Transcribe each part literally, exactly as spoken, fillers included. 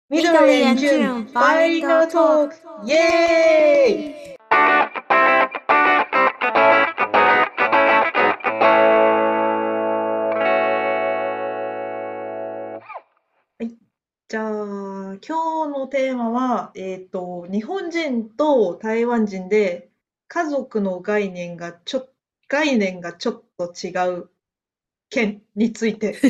緑緑 and エンジ June ュンバイリン Bilingual ガートー Talk クイイエーイ。 エーイ。 はい。じゃあ、今日のテーマは、えっと、日本人と台湾人で家族の概念がちょ、概念がちょっと違う件について。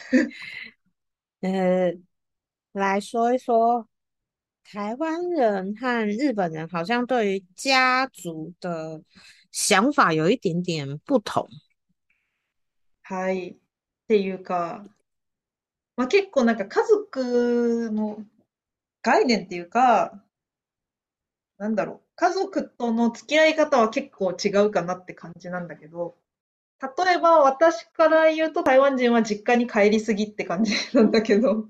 呃，来说一说，台湾人和日本人好像对于家族的想法有一点点不同。 はい。っていうか、まあ、結構なんか家族の概念っていうか、なんだろう。家族との付き合い方は結構違うかなって感じなんだけど、例えば私から言うと台湾人は実家に帰りすぎって感じなんだけど。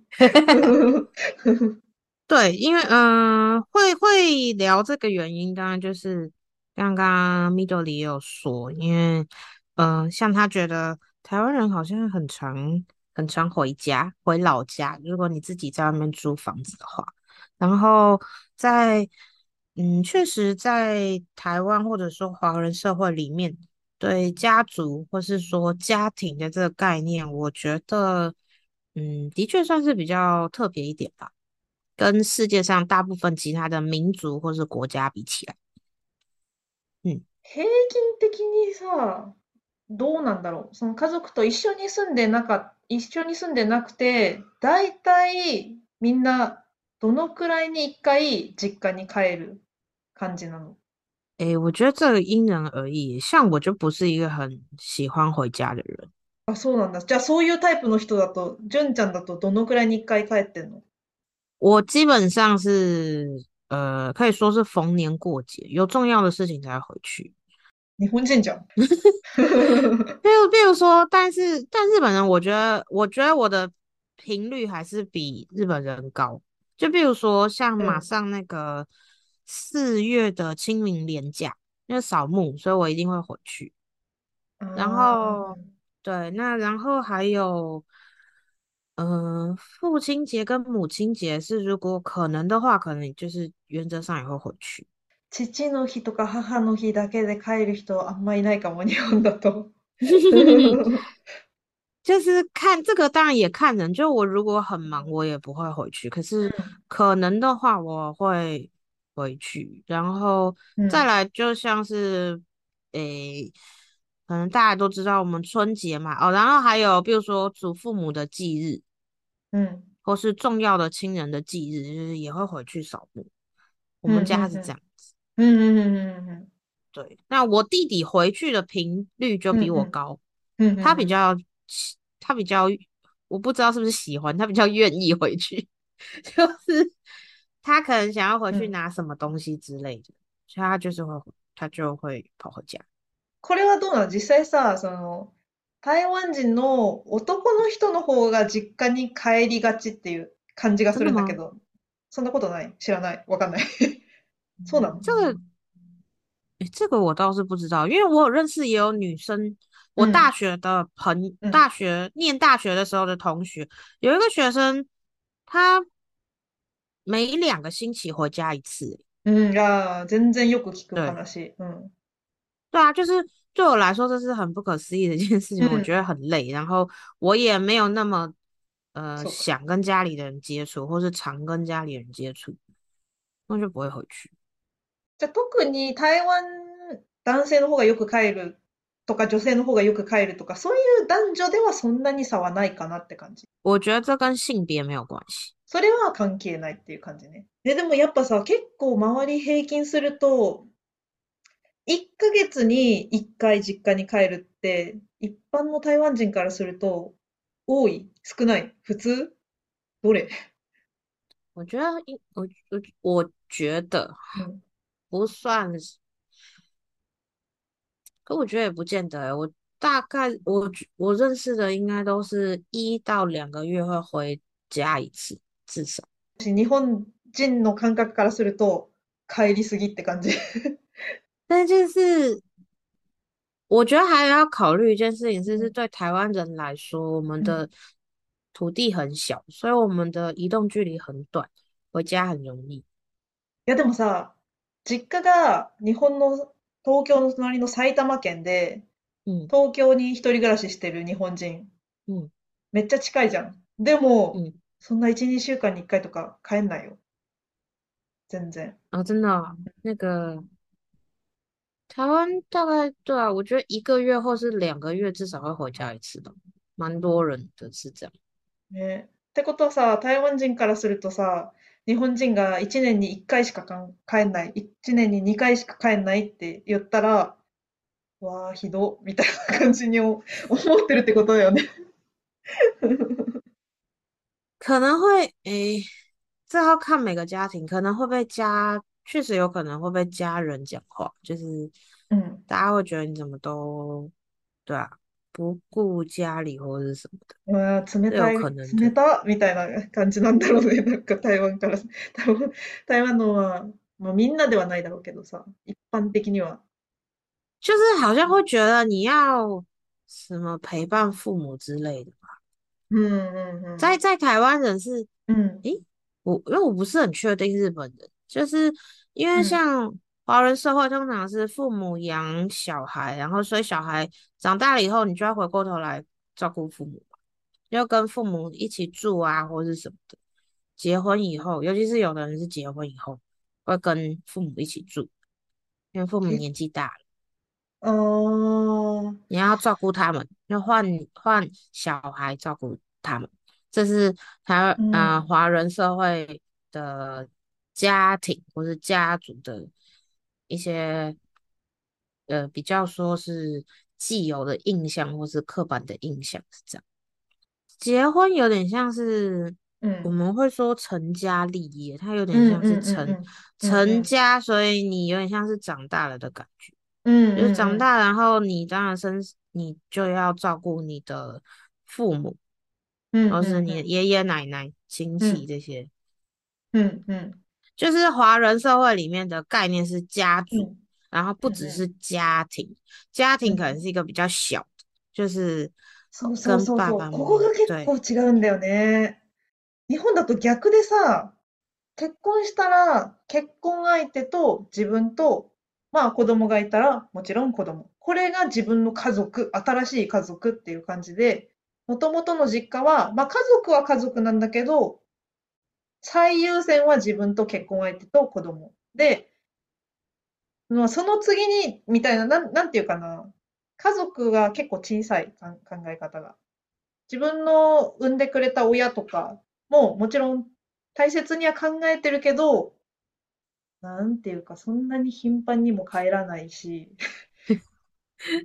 对，因为嗯、呃会会聊这个原因，当然就是刚刚 Middle 里也有说，因为嗯、呃像他觉得台湾人好像很常很常回家回老家，如果你自己在外面租房子的话，然后在嗯，确实在台湾或者说华人社会里面，对家族或是说家庭的这个概念，我觉得嗯，的确算是比较特别一点吧。跟世界上大部分其他的民族或是国家比起来，嗯， 平均的にさ、どうなんだろう。その家族と一緒に住んでなか、一緒に住んでなくて、だいたいみんなどのくらいに一回実家に帰る感じなの？ 诶，我觉得这个因人而异。像我就不是一个很喜欢回家的人， あ、そうなんだ。じゃあそういうタイプの人だと、純ちゃんだとどのくらいに一回帰ってんの？ 我基本上是呃，可以说是逢年过节有重要的事情才会回去。 日本人じゃん。 比如，比如说，但是但日本人，我觉得，我觉得我的频率还是比日本人高。就比如说，像うん。 马上那个四月的清明连假，因为扫墓，所以我一定会回去。然あ后， あ。 对，那然后还有，嗯、父亲节跟母亲节是如果可能的话，可能就是原则上也会回去。 父の日とか母の日だけで帰る人あんまいないかも、日本だと。 就是看这个，当然也看人。就我如果很忙，我也不会回去。可是う可能的话，我会回去。然后ん。うん。 再来，就像是诶，可能大家都知道我们春节嘛，哦，然后还有比如说祖父母的忌日， うん。 或是重要的亲人的忌日，就是也会回去扫墓。我うん。 们うん。うん。 家是这样。 うん。うん。うん。うん。 对，那我弟弟回去的频率就比我うん。 高， うん。うん。 他比较喜他比较，我不知道是不是喜欢，他比较愿意回去，就是他可能想要回去うん。 拿什么东西之类的，所以他就是会他就会跑回家。 これはどうなの？実際さ、その、台湾人の男の人の方が実家に帰りがちっていう感じがす真的吗？ るんだけど、そんなことない？知らない？わかんない。そうなの？ 这个诶，这个我倒是不知道，因为我有认识也有女生，我大うん。 学的朋， うん。 大学念大学的时候的同学，有一个学生，他每两个星期回家一次欸。 うん。ああ、全然よく聞く对話。うん。 对啊，就是对我来说，这是很不可思议的一件事情。我觉得うん。 很累，然后我也没有那么呃そうか。 想跟家里的人接触，或是常跟家里人接触，那就不会回去。 じゃあ特に台湾男性の方がよく帰るとか女性の方がよく帰るとか、そういう男女ではそんなに差はないかなって感じ。 我觉得这跟性别没有关系。 それは関係ないっていう感じね。で、でもやっぱさ、結構周り平均すると、いっかげつにいっかい実家に帰るって、一般の台湾人からすると、多い？少ない？普通？どれ？ 我觉得应我我我觉得うん。 不算是，可我觉得也不见得欸。我大概我觉我认识的应该都是一到两个月会回家一次，至少。 日本人の感覚からすると、帰りすぎって感じ。 但就是我觉得还要考虑一件事情是，是うん。 对台湾人来说，我们うん。 的土地很小，所以我们的移动距离很短，回家很容易。 いやでもさ、実家が日本の東京の隣の埼玉県で、 嗯東京に一人暮らししてる日本人、 嗯めっちゃ近いじゃん。でも、 嗯， そんないち、にしゅうかんにいっかいとか帰んないよ。全然。 哦，真的哦那个台湾大概对啊，我觉得一个月或是两个月至少会回家一次吧，蛮多人的是这样。 ね。ってことはさ、台湾人からするとさ、日本人がいちねんにいっかいしかかん帰んない、いちねんににかいしか帰んないって言ったら、わあ、ひど、みたいな感じに思思ってるってことだよね。 可能会诶，这要看每个家庭，可能会被家，确实有可能会被家人讲话，就是うん。 大家会觉得你怎么都，对啊，不顾家里或者是什么的， うわー、冷是有たい、 可能的。 冷たみたいな感じなんだろうね。なんか台湾から、台湾、台湾のは、まあみんなではないだろうけどさ、一般的には。 就是好像会觉得你要什么陪伴父母之类的。 うんうんうん。 在在台湾人是， うん。 诶，我因为我不是很确定日本人，就是因为うん。 像华人社会通常是父母养小孩，然后所以小孩长大了以后，你就要回过头来照顾父母，要跟父母一起住啊，或是什么的。结婚以后，尤其是有的人是结婚以后会跟父母一起住，因为父母け、 年纪大了。 ああ、 你要照顾他们，要换换小孩照顾他们，这是台湾呃うん。 华人社会的家庭或是家族的一些呃比较说是既有的印象或是刻板的印象是这样。结婚有点像是我うん。 们会说成家立业，它有点像是うんうんうんう成ん。うんうん。 成家，所以你有点像是长大了的感觉。 うん就是うんうん。 长大，然后你当然生，你就要照顾你的父母， うん或是うんうん。 你的爷爷奶奶、亲戚うん这些。 うんうん。 就是华人社会里面的概念是家族， うん然后不うんうん。 只是家庭，家庭可能うん。 是一个比较小的，就是そうそう跟そうそう。 爸爸妈妈， ここが結对， 構違うんだよね。日本だと逆でさ、結婚したら結婚相手と自分と、まあ子供がいたらもちろん子供。これが自分の家族、新しい家族っていう感じで、もともとの実家は、まあ家族は家族なんだけど、最優先は自分と結婚相手と子供。で、まあその次に、みたいな、なん、なんていうかな。家族が結構小さいかん考え方が。自分の産んでくれた親とかももちろん大切には考えてるけど、なんていうか、そんなに頻繁にも帰らないし、うん、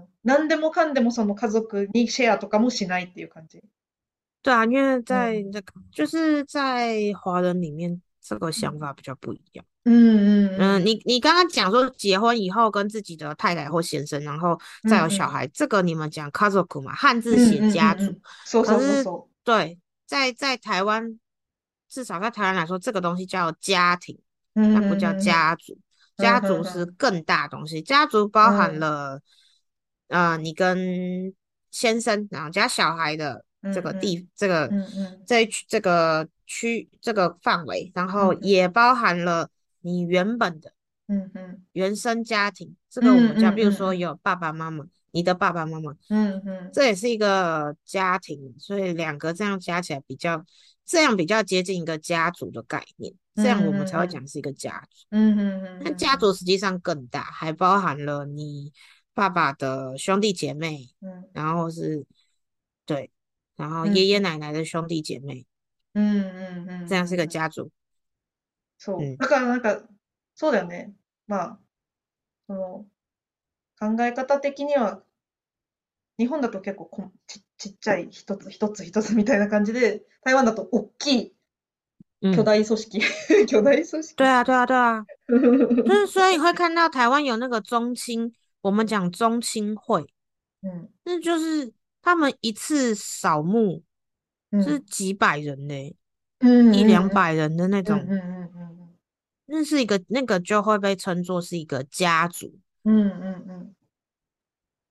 何でもかんでもその家族にシェアとかもしないっていう感じ。 对啊，因为うん。 在这个就是在华人里面，这个うん。 想法比较不一样。 うん嗯， うん你你刚刚讲说结婚以后跟自己的太太或先生，然后うん。うんうん。 再有小孩，这个你们讲家族嘛，汉字写うんうん家族， うんうん。そうそうそう可是そ对，在在台湾，至少在台湾来说，这个东西叫家庭， う。うんうん那不叫うんうん。 家族。 うん家族是うんうん。 更大的东西，家族包含うん。 了呃你跟先生，然后加小孩的うん这个地うん。 这个うんうん。 这一区这个区这个范围，然后うんうん。 也包含了你原本的。 うんうん。 原生家庭，这うんう个我们叫，比如んうんうん。 说有爸爸妈妈，你的爸爸妈妈， うんうん。 这也是一个家庭，所以两个这样加起来比较，这样比较接近一个家族的概念， うん这样我们うんうん。 才会讲是一个家族。 うんうんうん那うんうん。 家族实际上更大，还包含了你爸爸的兄弟姐妹， うん。 然後是对，然后うんうん。 爷爷奶奶的兄弟姐妹， うんうんうん这样是一うんうん。 个家族。 そう。 嗯， だからなんか、そうだよね。まあ、その、考え方的には、日本だと結構こち、ちっちゃい一つ一つ一つみたいな感じで、台湾だと大きい巨嗯， 大組織。巨大組織。 对啊，对啊，对啊。就是所以你会看到台湾有那个中青，我们讲中青会， うん。 那就是他们一次扫墓是うん。 几百人呢， うん一うんうん。 两百人的那种， うんうんうん那是一个那个就会被称作是一个家族。 うん。うんうんうん。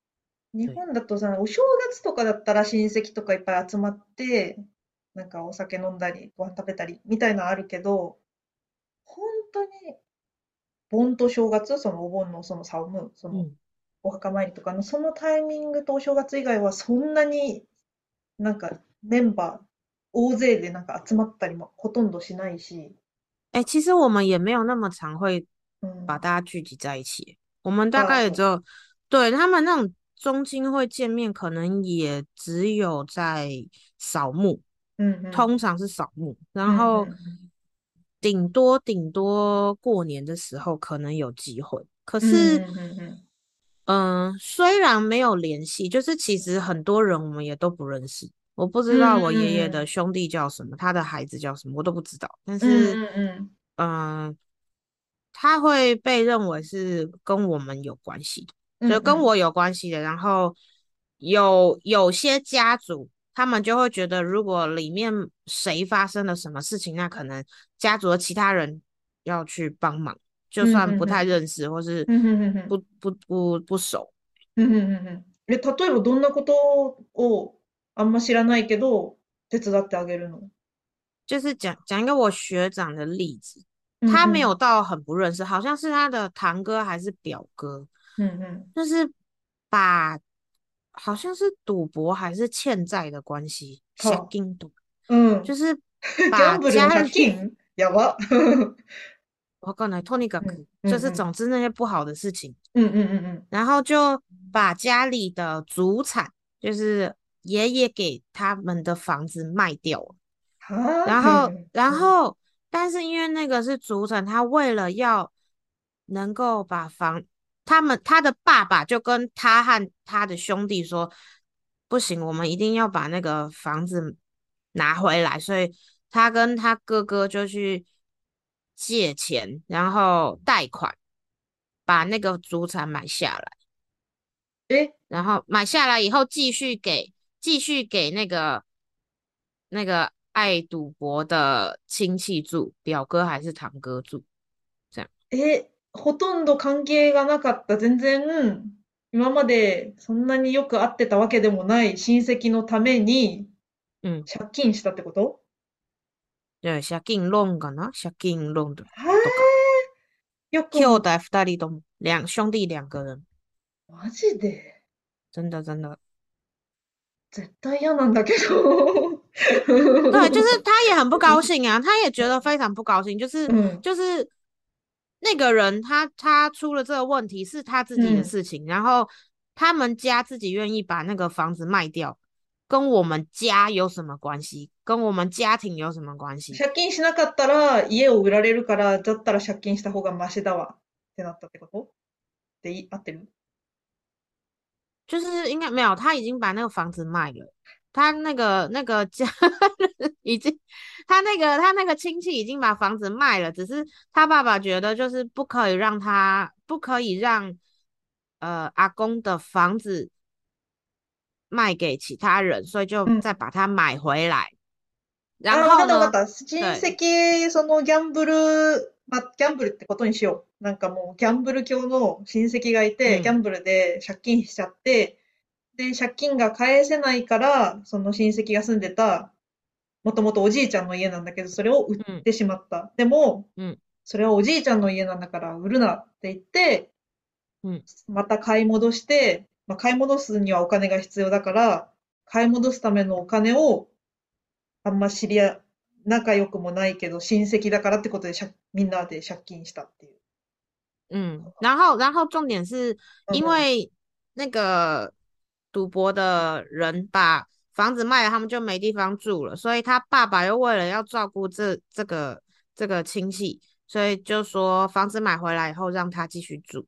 日对。 本だとさ、お正月とかだったら親戚とかいっぱい集まって、なんかお酒飲んだり、ご飯食べたりみたいなのあるけど、本当に盆と正月、そのお盆のそのサム、その嗯。 お墓参りとかのそのタイミングとお正月以外はそんなになんかメンバー大勢でなんか集まったりもほとんどしないし、 哎、其实我们也没有那么常会うん。 把大家聚集在一起。我们大ああ、そう。 概也只有对他们那种中间会见面，可能也只有在扫墓， うんうん。 通常是扫墓， うんう然后ん顶多顶多过年的时候可能有机会。可うん。うん是， うんうんうん。 嗯、虽然没有联系，就是其实很多人我们也都不认识。我不知道我うんうん爷爷うん。 的兄弟叫什么，他的孩子叫什么，我都不知道。但是， うんうんうん。 嗯、他会被认为是跟我们有关系的， うんうん。 就跟我有关系的。然后有有些家族，他们就会觉得，如果里面谁发生了什么事情，那可能家族的其他人要去帮忙，就うん算不太うんうん。 认识或是うんうんうんうん。 不不不不熟。 うんうんうんうん。え、例えばどんなことをあんま知らないけど、手伝ってあげるの？ 就是讲讲一个我学长的例子，他没有うんうん。 到很不认识，好像是他的堂哥还是表哥， うんうん。 就是把好像是赌博还是欠债的关系，下は金赌， あ。うん。 就是ギャ把ンブルの家里借金やば。 我告诉你，とにかくうんうん就是うん。 总之那些不好的事情， うんうんうんうん。 然后就把家里的祖产，就是爷爷给他们的房子卖掉了。 はあ？ 然后，然うん。 后，但是因为那个是主产，他为了要能够把房，他们他的爸爸就跟他和他的兄弟说，不行，我们一定要把那个房子拿回来，所以他跟他哥哥就去借钱，然后贷款把那个祖产买下来。 え、 然后买下来以后继续给继续给那个那个爱赌博的亲戚住，表哥还是堂哥住，这样。 え、ほとんど関係がなかった、全然、今までそんなによく会ってたわけでもない親戚のために嗯， 借金したってこと？ 对，借金弄かな借金弄的はとか。 え、よくも、 兄弟二人とも两兄弟两个人， マジで、 真的真的。 絶対嫌なんだけど。 对，就是他也很不高兴啊，他也觉得非常不高興，就是うん、 就是那个人他他出了这个问题是他自己的うん。 事情，然后他们家自己願意把那个房子卖掉，跟我们家有什么关系？跟我们家庭有什么关系？ 借金しなかったら家を売られるから、だったら借金した方がマシだわってなったってこと？でいい、合ってる？ 就是应该没有，他已经把那个房子卖了，他那个那个家人已经，他那个他那个亲戚已经把房子卖了，只是他爸爸觉得就是不可以让他不可以让呃阿公的房子卖给其他人，所以就うん。 再把它買回来。然ああ、わか后呢， ったわかった。親对， 戚、そのギャンブル、まあ、ギャンブルってことにしよう。なんかもうギャンブル教の親戚がいて、ギャ嗯ンブルで借金しちゃって、で、借金が返せないから、その親戚が住んでた、もともとおじいちゃんの家なんだけど、それを売っ嗯てしまった。でも、 嗯それはおじいちゃんの家なんだから売るなって言って、 嗯また買い戻して、まあ、買い戻すにはお金が必要だから、買い戻すためのお金をあんま知り合い、仲良くもないけど親戚だからってことで借みんなで借金したっていう。 嗯，然后然后重点是うん。 因为那个赌博的人把房子卖了，他们就没地方住了，所以他爸爸又为了要照顾这这个这个亲戚，所以就说房子买回来以后让他继续住。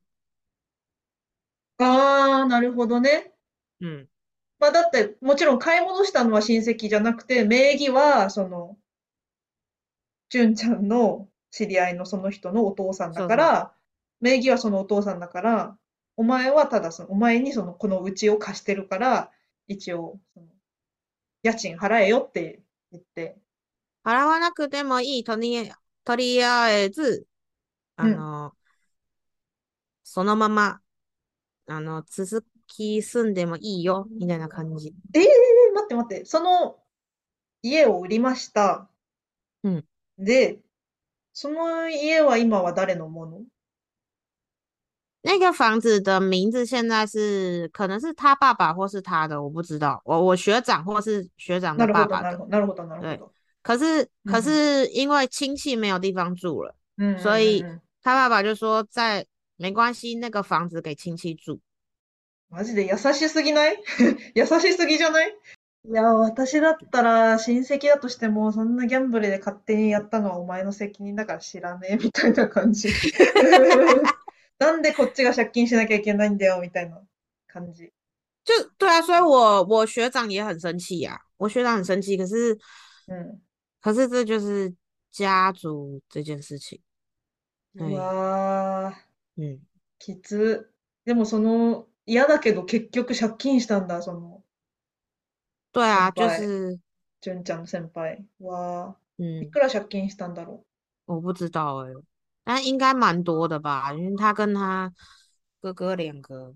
ああ、なるほどね。 嗯， まあだって、もちろん買い戻したのは親戚じゃなくて、名義は、その、純ちゃんの知り合いのその人のお父さんだそうそう。 から、名義はそのお父さんだから、お前はただその、お前にその、この家を貸してるから、一応、その家賃払えよって言って、 払わなくてもいいとりとりあえずあうん、 のそのままあの続き住んでもいいよ、みたいな感じ。 ええー、待って待って。その家を売りました。 うん。 で、その家は今は誰のもの？ 那个房子的名字现在是可能是他爸爸或是他的，我不知道。我我学长或是学长的なるほど、 爸爸的。 なるほど、なるほど、なるほ对， ど。 可是可うん、 是因为亲戚没有地方住了， うん、うん、 所以うんうん。 他爸爸就说在没关系，那个房子给亲戚住。 マジで優しすぎない？優しすぎじゃない？いや、私だったら親戚だとしても、そんなギャンブルで勝手にやったのはお前の責任だから知らねえみたいな感じ。なんでこっちが借金しなきゃいけないんだよみたいな感じ。 就对啊，所以我我学长也很生气呀、我学长很生气，可是うん。 可是这就是家族这件事情。 う哎， わー、 嗯， きつ。でもその、嫌だけど結局借金したんだ、その对啊，就先輩。 是純ちゃんの先輩。うわー、い嗯。 くら借金したんだろ我不知道诶、但应该蛮多的吧，因为他跟他哥哥两个，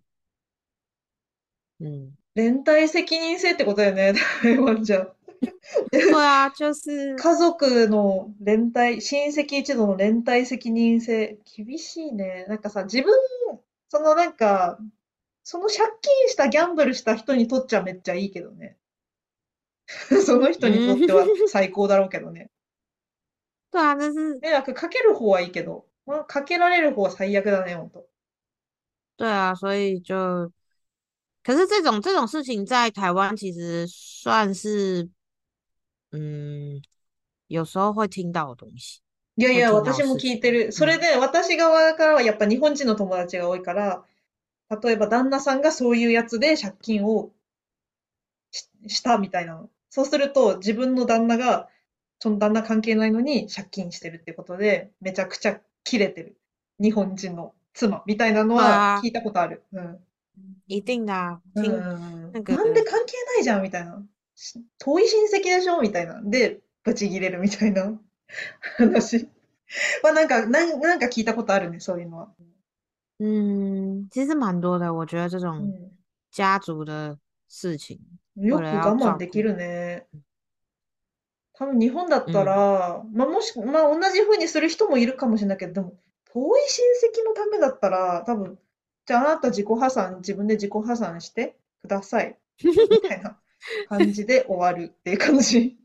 嗯， う。連帯責任制ってことだよね、台湾じゃ。 对啊，就是家族の連帯、親戚一同の連帯責任制、厳しいね。なんかさ、自分、そのなんか、その借金したギャンブルした人にとっちゃめっちゃいいけどね。その人にと嗯， っては最高だろうけどね。 对啊，这是迷惑かける方はいいけど、まあ、かけられる方は最悪だね、ほんと。 对啊，所以就，可是这种这种事情在台湾其实算是，嗯，有时候会听到的东西， いやいや、 会听到的私も事情， 聞いてる。それ嗯， で、私側からはやっぱ日本人の友達が多いから、例えば旦那さんがそういうやつで借金をししたみたいなの。そうすると、自分の旦那が、その旦那関係ないのに借金してるってことで、めちゃくちゃキレてる。日本人の妻みたいなの对啊， は聞いたことある。うん。 一定的啊， うんう听んうん。 那个なんで関係ないじゃんみたいな。し遠い親戚でしょみたいな。で、ブチギレるみたいな話はなんか、なんなんか聞いたことあるね、そういうのは。 嗯，其实蛮多的。我觉得这种うん。 家族的事情，为了要よく我慢照顾， できるね。多分日本だった嗯， ら、まあ、もし、まあ、同じ風にする人もいるかもしれないけど、でも、遠い親戚のためだったら、多分、じゃああなた自己破産、自分で自己破産してください。みたいな感じで終わるっていう感じ。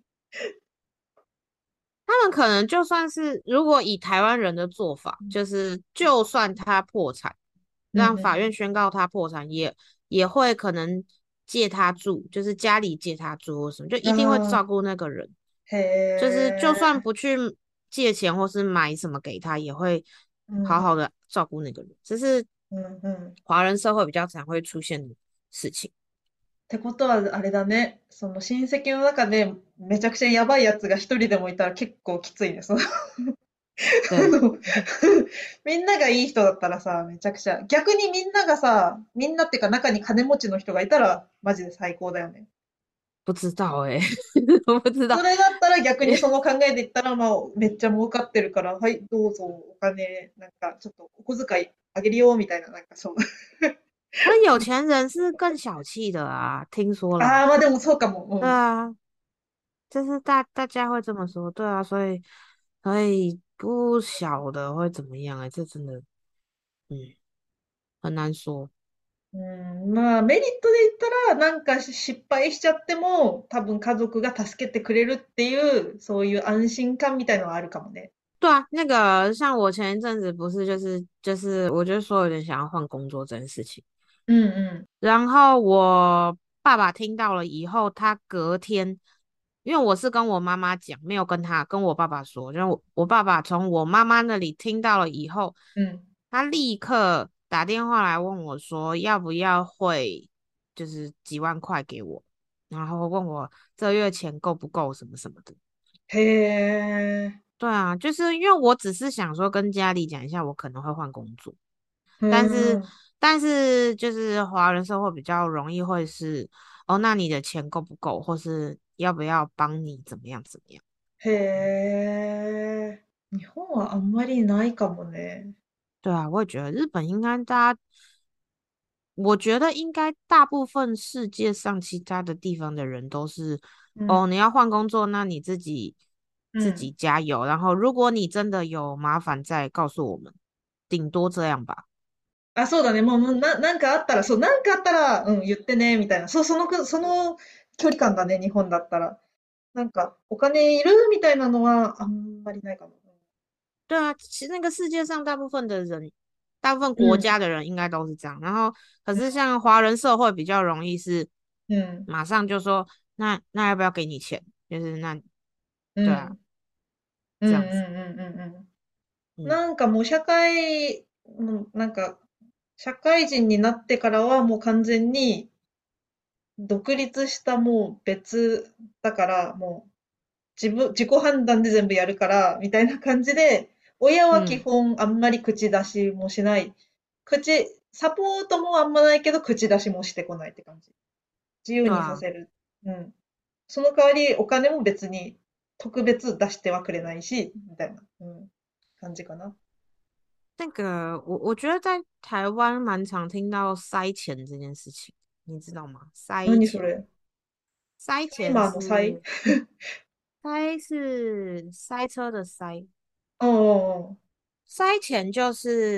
他们可能就算是如果以台湾人的做法，就是就算他破产，让法うんうん。 院宣告他破产，也也会可能借他住，就是家里借他住或什么，就一定会照あ顾那个人。 あ、へ就是就算え。 不去借钱或是买什么给他，也会うんうん。 好好的照顾那个人。这是うんうん。 华人社会比较常会出现的事情。 ってことは、あれだね。その親戚の中でめちゃくちゃやばいやつが一人でもいたら結構きついね。そのあ对， のみんながいい人だったらさ、めちゃくちゃ。逆にみんながさ、みんなっていうか中に金持ちの人がいたら、マジで最高だよね。 不知道哎、我不知道。 それだったら逆にその考えで言ったら、まあ、めっちゃ儲かってるから、はい、どうぞ、お金、なんか、ちょっと、お小遣いあげるよ、みたいな、なんかそう。 可是有钱人是更小气的啊，听说啦。 ああ、まあでもそうかも。うん。 对啊，就是大大家会这么说，对啊，所以所以不晓得会怎么样哎、这真的嗯很难说。 うん、まあ、メリットで言ったら、なんか失敗しちゃっても、多分家族が助けてくれるっていう、そういう安心感みたいのはあるかもね。 对啊，那个像我前一阵子不是就是就是我就说有点想要换工作这件事情， うんう然后我爸爸听到了以后，他隔天，因为我是跟我妈妈讲，没有跟他跟我爸爸说，就是我我爸爸从我妈妈那里听到了以后， ん。うん。 他立刻打电话来问我说要不要汇，就是几万块给我，然后问我这月钱够不够什么什么的。 へえ。 对啊，就是因为我只是想说跟家里讲一下，我可能会换工作。 う但是ん。 但是就是华人社会比较容易会是哦，那你的钱够不够，或是要不要帮你怎么样怎么样？ へえ。日本はあんまりないかもね。 对啊，我也觉得日本应该大家我觉得应该大部分世界上其他的地方的人都是，哦， うん、 你要换工作，那你自己自己うん。 加油，然后如果你真的有麻煩再告诉我们，顶多这样吧。 あ、そうだね。もう、もうな、なんかあったら、そう、なんかあったら、うん、言ってね、みたいな。そう、そのく、その距離感だね、日本だったら。なんか、お金いるみたいなのは、あんまりないかも。 对啊，其实那个世界上大部分的人，大部分うん、 国家的人应该都是这样。然后，可是像华人社会比较容易是うん、 马上就说，那那要不要給你钱？就是那，对啊， うん、うん、うん、 这样子。 うん、うん。うん嗯なんかもう社会、もうなんか、社会人になってからはもう完全に独立したもう別だから、もう自分、自己判断で全部やるから、みたいな感じで、親は基嗯， 本あんまり口出しもしない。口、サポートもあんまないけど、口出しもしてこないって感じ。自由にさ对啊。 せる。うん。その代わりお金も別に特別出してはくれないし、みたいな、うん、感じかな。 那个，我我觉得在台湾蛮常听到塞钱这件事情，你知道吗？塞钱， 何それ？ 塞钱タイマーの際？ 是塞是塞車的塞， うんうんうん。 塞钱就是，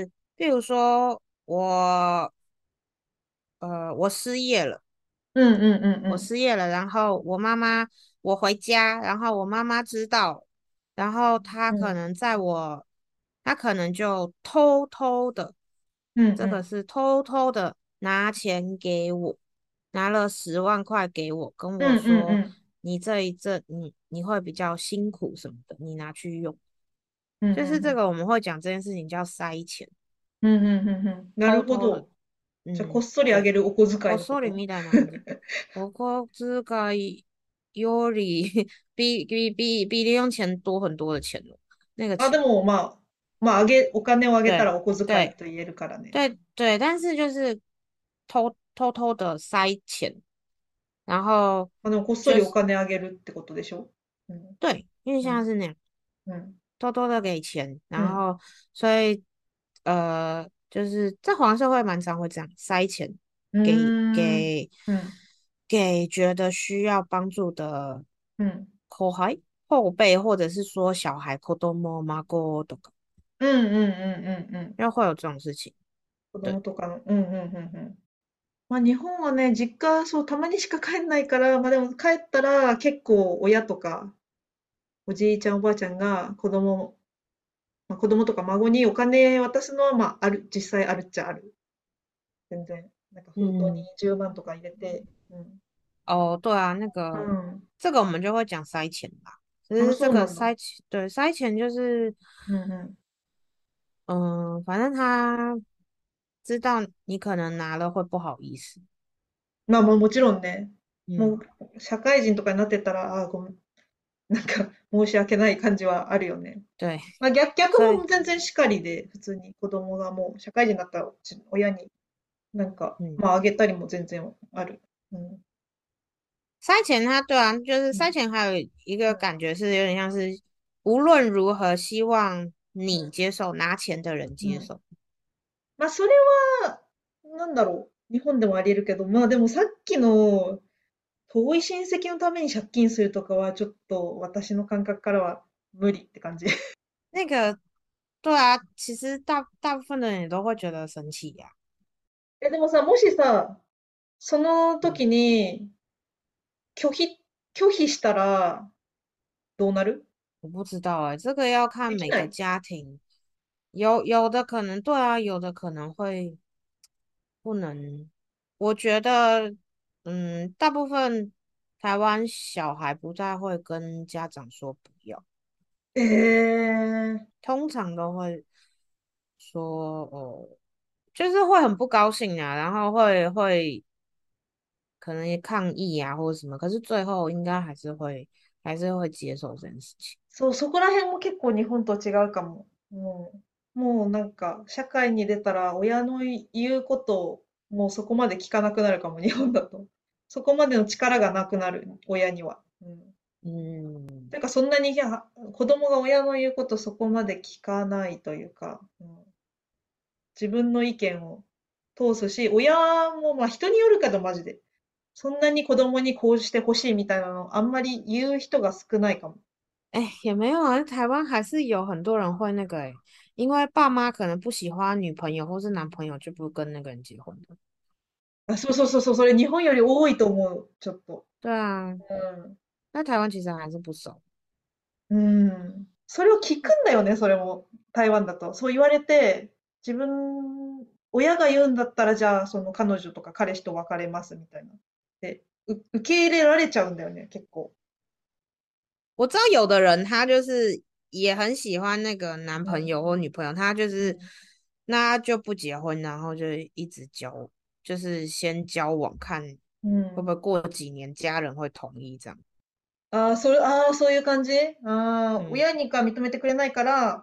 比如说我呃我失业了。 うんうんうんう我ん。 失业了，然后我妈妈，我回家，然后我妈妈知道，然後她うん。 可能在我，她可能就偷偷的， うんう这个ん。 是偷偷的拿錢給我，拿了十萬塊給我，跟うんうんう我說ん。 你這一陣你你會比較辛苦什麼的，你拿去用， うんうん就是うん。 這個我們會講這件事情叫塞錢， うんうんうんうん。なる偷偷的， ほど。じゃあ、こっ嗯， そりあ对。 げるお小遣いのこと？ こっそりみたいな感じ。我小遣いより比比比比零用钱多很多的钱了。那个あ、で钱， も、まあ、まあ、あげ、お金をあげた对らお小遣い对と言えるからね。 对对，但是就是偷偷偷的塞钱，然后まあ、でも、こっそりお就是金あげるってことでしょ？うん。 对，因为うん。 现在是那样。 うん。 偷偷的给钱， うん。 然后所以呃，就是在华社会蛮常会这样塞钱う给ーん。 给うん。 给觉得需要帮助的うん。 后孩后辈，或者是说小孩、子供、孫とか， うんうんうんうんうん。 因为会有这种事情。 子对， 供とかの。うんうんうんうん。まあ、日本はね、実家、そう、たまにしか帰んないから、まあでも帰ったら結構親とか、おじいちゃんおばあちゃんが子供、まあ、子供とか孫にお金渡すのは、まあ、ある、実際あるっちゃある。全然。なんか封筒に嗯， じゅうまんとか入れて、うん。 哦，对啊，那う个ん。 这个我们就会讲塞钱吧。只あ、 是这个そうなんだ。 塞钱，对，塞钱就是。 うんうん。 嗯，反正他知道你可能拿了会不好意思。 まあまあもちろんね、も嗯， う社会人とかになってたら、あー、ごめん、なんか申し訳ない感じはあるよね。 对， まあ逆、逆所以も全然しかりで、普通に子供がもう社会人になったらち親になんか、 嗯， まああげたりも全然ある。うん。 塞钱他对啊，就是うん。 塞錢还有一个うん。 感觉是有点像是无论如何希望うん。 你接受，拿钱的人うん。 接受。 まあそれは、なんだろう。日本でもあり得るけど、まあでもさっきの遠い親戚のために借金するとかはちょっと私の感覚からは無理って感じ。 那个对啊，其实大大部分的人也都会觉得生气呀、 え、でもさ、もしさ、その嗯， 時に拒否、拒否したらどうなる？ 我不知道哎、这个要看每个できない？ 家庭，有有的可能对啊，有的可能会不能。我觉得，嗯，大部分台湾小孩不太会跟家长说不要， えー、 通常都会说哦，就是会很不高兴啊，然後会会可能抗议啊或者什么，可是最後应该还是会还是会接受这件事情。 そう、そこら辺も結構日本と違うかも。もう、もうなんか、社会に出たら親の言うことをもうそこまで聞かなくなるかも、日本だと。そこまでの力がなくなる、親には。うん。 嗯， というか、そんなに、いや子供が親の言うことそこまで聞かないというか、うん、自分の意見を通すし、親もまあ人によるけどマジで。そんなに子供にこうしてほしいみたいなのあんまり言う人が少ないかも。 哎，也没有啊，台湾还是有很多人会那个哎，因为爸妈可能不喜欢女朋友或是男朋友，就不跟那个人结婚的。 あ、そうそうそうそう、それ日本より多いと思う、ちょっと。 对啊， う那台湾其实还是不熟。 ん。うん。それを聞くんだよね、それも。台湾だと。そう言われて、自分、親が言うんだったら、じゃあ、その彼女とか彼氏と別れますみたいな。で、う受け入れられちゃうんだよね、結構。 我知道有的人他就是也很喜欢那个男うん。 朋友或女朋友，他就是うん。 那就不结婚，然后就一直交，就是先交往看会不会うん。 过几年家人会同意这样。 ああ、それ、ああ、そういう感じ。ああ、 嗯親にか認めてくれないから、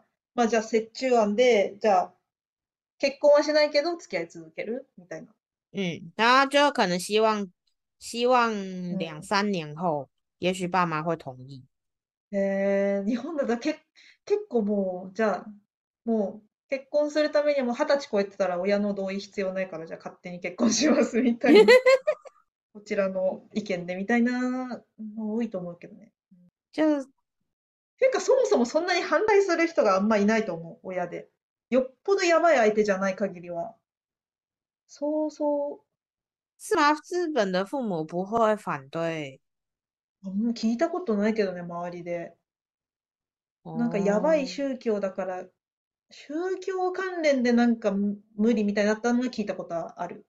まあじゃあ折衷案で、じゃあ結婚はしないけど付き合い続けるみたいな。 嗯，然后就可能希望希望うん。 两三年后，也许爸妈会同意。 えー、日本だとけ、結構もう、じゃあ、もう結婚するためにも二十歳超えてたら親の同意必要ないから、じゃあ勝手に結婚しますみたいな、こちらの意見でみたいなの多いと思うけどね。 就ていうか、そもそもそんなに反対する人があんまいないと思う、親で。よっぽどやばい相手じゃない限りは。そうそう。 是吗？日本的父母不会反对あんま聞いたことないけどね、周りで。なんかやばい哦。 宗教だから、宗教関連でなんか無無理みたいになったのは聞いたことある。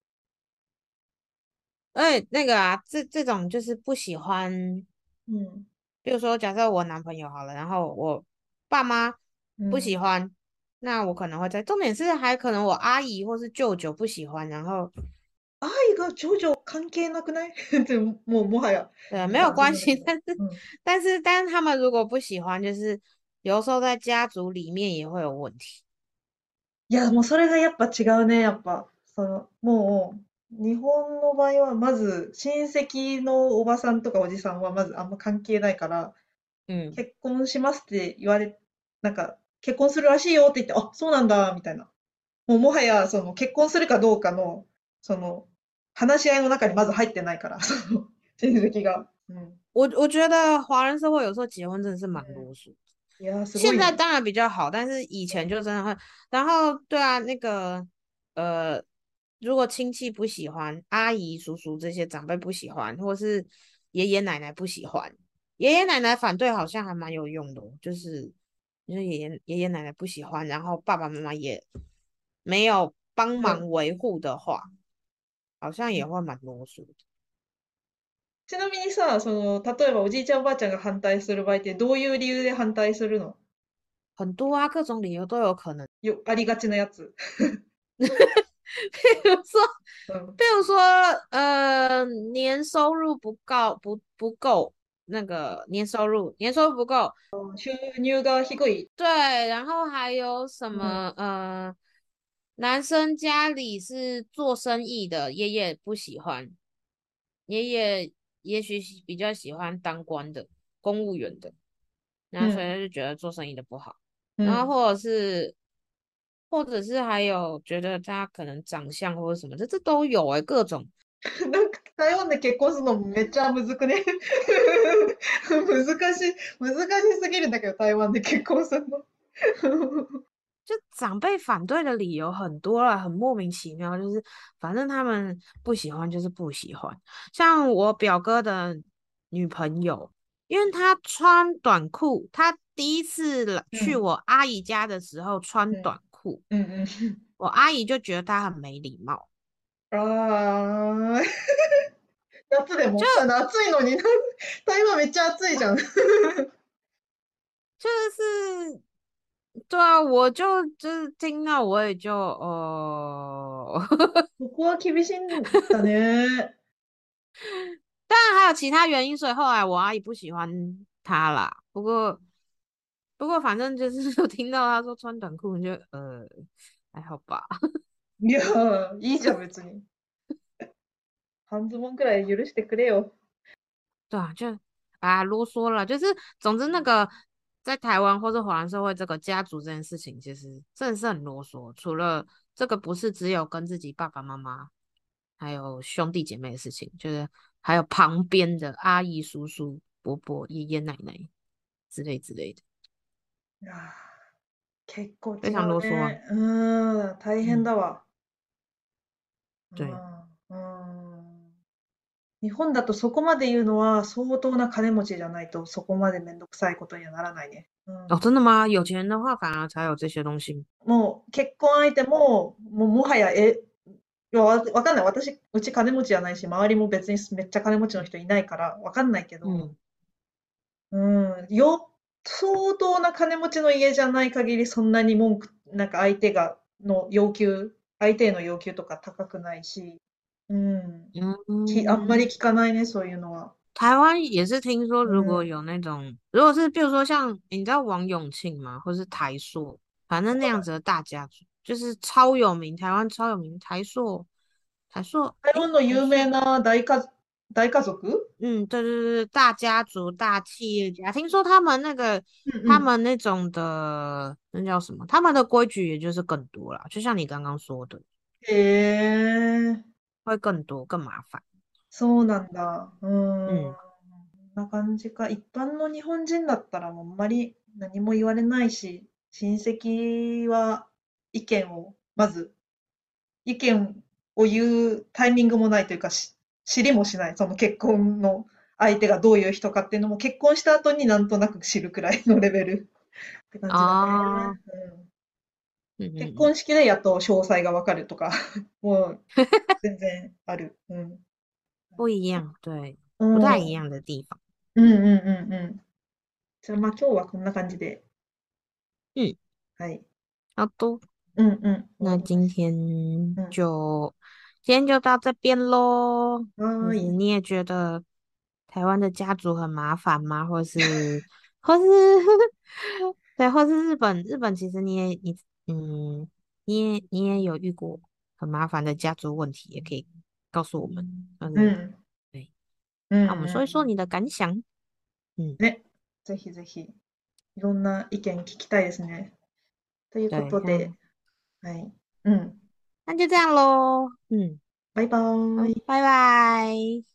而且那个啊，这这种就是不喜欢， うん。 比如说，假设我男朋友好了，然后我爸妈不喜うん。 欢，那我可能会在，重点是还可能我阿姨或是舅舅不喜欢，然后愛がジョジョ関係なくないでももうもはや。 呃没まあ自有关系， 分だけど。 但是うん。 但是但是他们如果不喜欢，就是有时候在家族里面也会有问题。 いや、もうそれがやっぱ違うね、やっぱ。その、もう、日本の場合はまず親戚のおばさんとかおじさんはまずあんま関係ないから、 嗯， 結婚しますって言われ、なんか、結婚するらしいよって言って、あ、そうなんだ、みたいな。もうもはや、その、結婚するかどうかの、その、話し合いの中にまず入ってないから、その、親戚が。うん。 我我觉得华人社会有时候结婚真的是蛮啰嗦。 いやー、すごいね。 现在当然比较好，但是以前就真的会。然后，对啊，那个呃，如果亲戚不喜欢，阿姨、叔叔这些长辈不喜欢，或是爷爷奶奶不喜欢，爷爷奶奶反对好像还蛮有用的哦，就是就是爷爷爷爷奶奶不喜欢，然后爸爸妈妈也没有帮うん。 忙维护的话，好像也会蛮啰嗦的。 ちなみにさ、その、例えばおじいちゃんおばあちゃんが反対する場合ってどういう理由で反対するの？ 很多啊，各种理由都有可能。 よ、ありがちなやつ。 比如说， うん。 比如说，呃，年收入不够，不不够，那个年收入年收入不够， 収入が低い。 对，然后还有什うん。 么，呃，男生家里是做生意的，爷爷不喜欢，爷爷也许喜比较喜欢当官的，公务员的，然后所以うん。 他就觉得做生意的不好， うん。 然后或者是，或者是还有觉得他可能长相或者什么，这这都有诶、各种。 なんか台湾で結婚するのめっちゃむずくね？難しい、難しすぎるんだけど、台湾で結婚するの。 就长辈反对的理由很多了，很莫名其妙，就是反正他们不喜欢就是不喜欢。像我表哥的女朋友，因为她穿短裤，她第一次来去うん。 我阿姨家的时候穿うん。 短裤， うんうん。 我阿姨就觉得她很没礼貌。 ああ、夏でもあの暑いのに、台湾めっちゃ暑いじゃん。 就是对啊，我就就是听到我也就哦。 ここは厳しいんだね。 当然还有其他原因，所以后来我阿姨不喜欢他啦。不过不过反正就是有听到他说穿短裤，你就呃还好吧。 いやー、いいじゃん、別に。半ズボンくらい許してくれよ。 对啊，就啊啰嗦了，就是总之那个在台湾或者华人社会，这个家族这件事情其实真的是很啰嗦。除了这个，不是只有跟自己爸爸妈妈还有兄弟姐妹的事情，就是还有旁边的阿姨、叔叔、伯伯、爷爷奶奶之类之类的， いやー、結構違非常啰嗦啊。 うね。うーん、大変嗯， だわ。う对， ん、うん。日本だとそこまで言うのは相当な金持ちじゃないとそこまでめんどくさいことにはならないね。う哦， ん。 真的吗？有钱人的话，反而才有这些东西。 もう結婚相手も、もうもはや、え、いやわ、わかんない。私、うち金持ちじゃないし、周りも別にめっちゃ金持ちの人いないから、わかんないけど、 嗯うん、よ、相当な金持ちの家じゃない限り、そんなに文句、なんか相手が、の要求、相手への要求とか高くないし、うん、き、あんまり嗯， 聞かないね、そういうのは。 台湾也是听说，如果うん。 有那种，如果是比如说像你知道王永庆吗，或是台塑，反正那样子的大家族，就是超有名，台湾超有名，台塑，台塑，诶， 台湾の有名台塑， な大家、大家族。 嗯，对对对，大家族、大企业家，听说他们那个，他うんうん。 们那种的，那叫什么？他们的规矩也就是更多啦，就像你刚刚说的， へえ、 会更多、更麻烦。 そうなんだ。うーん。こ嗯んな感じか。一般の日本人だったらもうあんまり何も言われないし、親戚は意見を、まず意見を言うタイミングもないというか、し知りもしない。その結婚の相手がどういう人かっていうのも結婚した後になんとなく知るくらいのレベルって感じだ啊， ね。うん、 嗯嗯結嗯， 婚式でやっと詳細がわかるとか、もう全然ある。うん。 不一样，对， う不太一ん。 样的地方。 うんうんうんうん。じゃあまあ今日はこんな感じで。 嗯， はい。 好多。 うんうん。終わ那りまし今天た。うん。 就今天就到这边喽。就是はーい。 你也觉得台湾的家族很麻烦吗？或是或是对，或是日本日本其实你也你嗯你也你也有遇过很麻烦的家族问题，也可以告诉我们。嗯， うん。 对， うんう那我们说一说ん。 你的感想。嗯， ね。ぜひぜひ。いろんな意見聞きたいですね。というこ对， とで、 嗯， はい。うん。 那就这样喽。嗯， バイバ好， ーイ。 拜拜。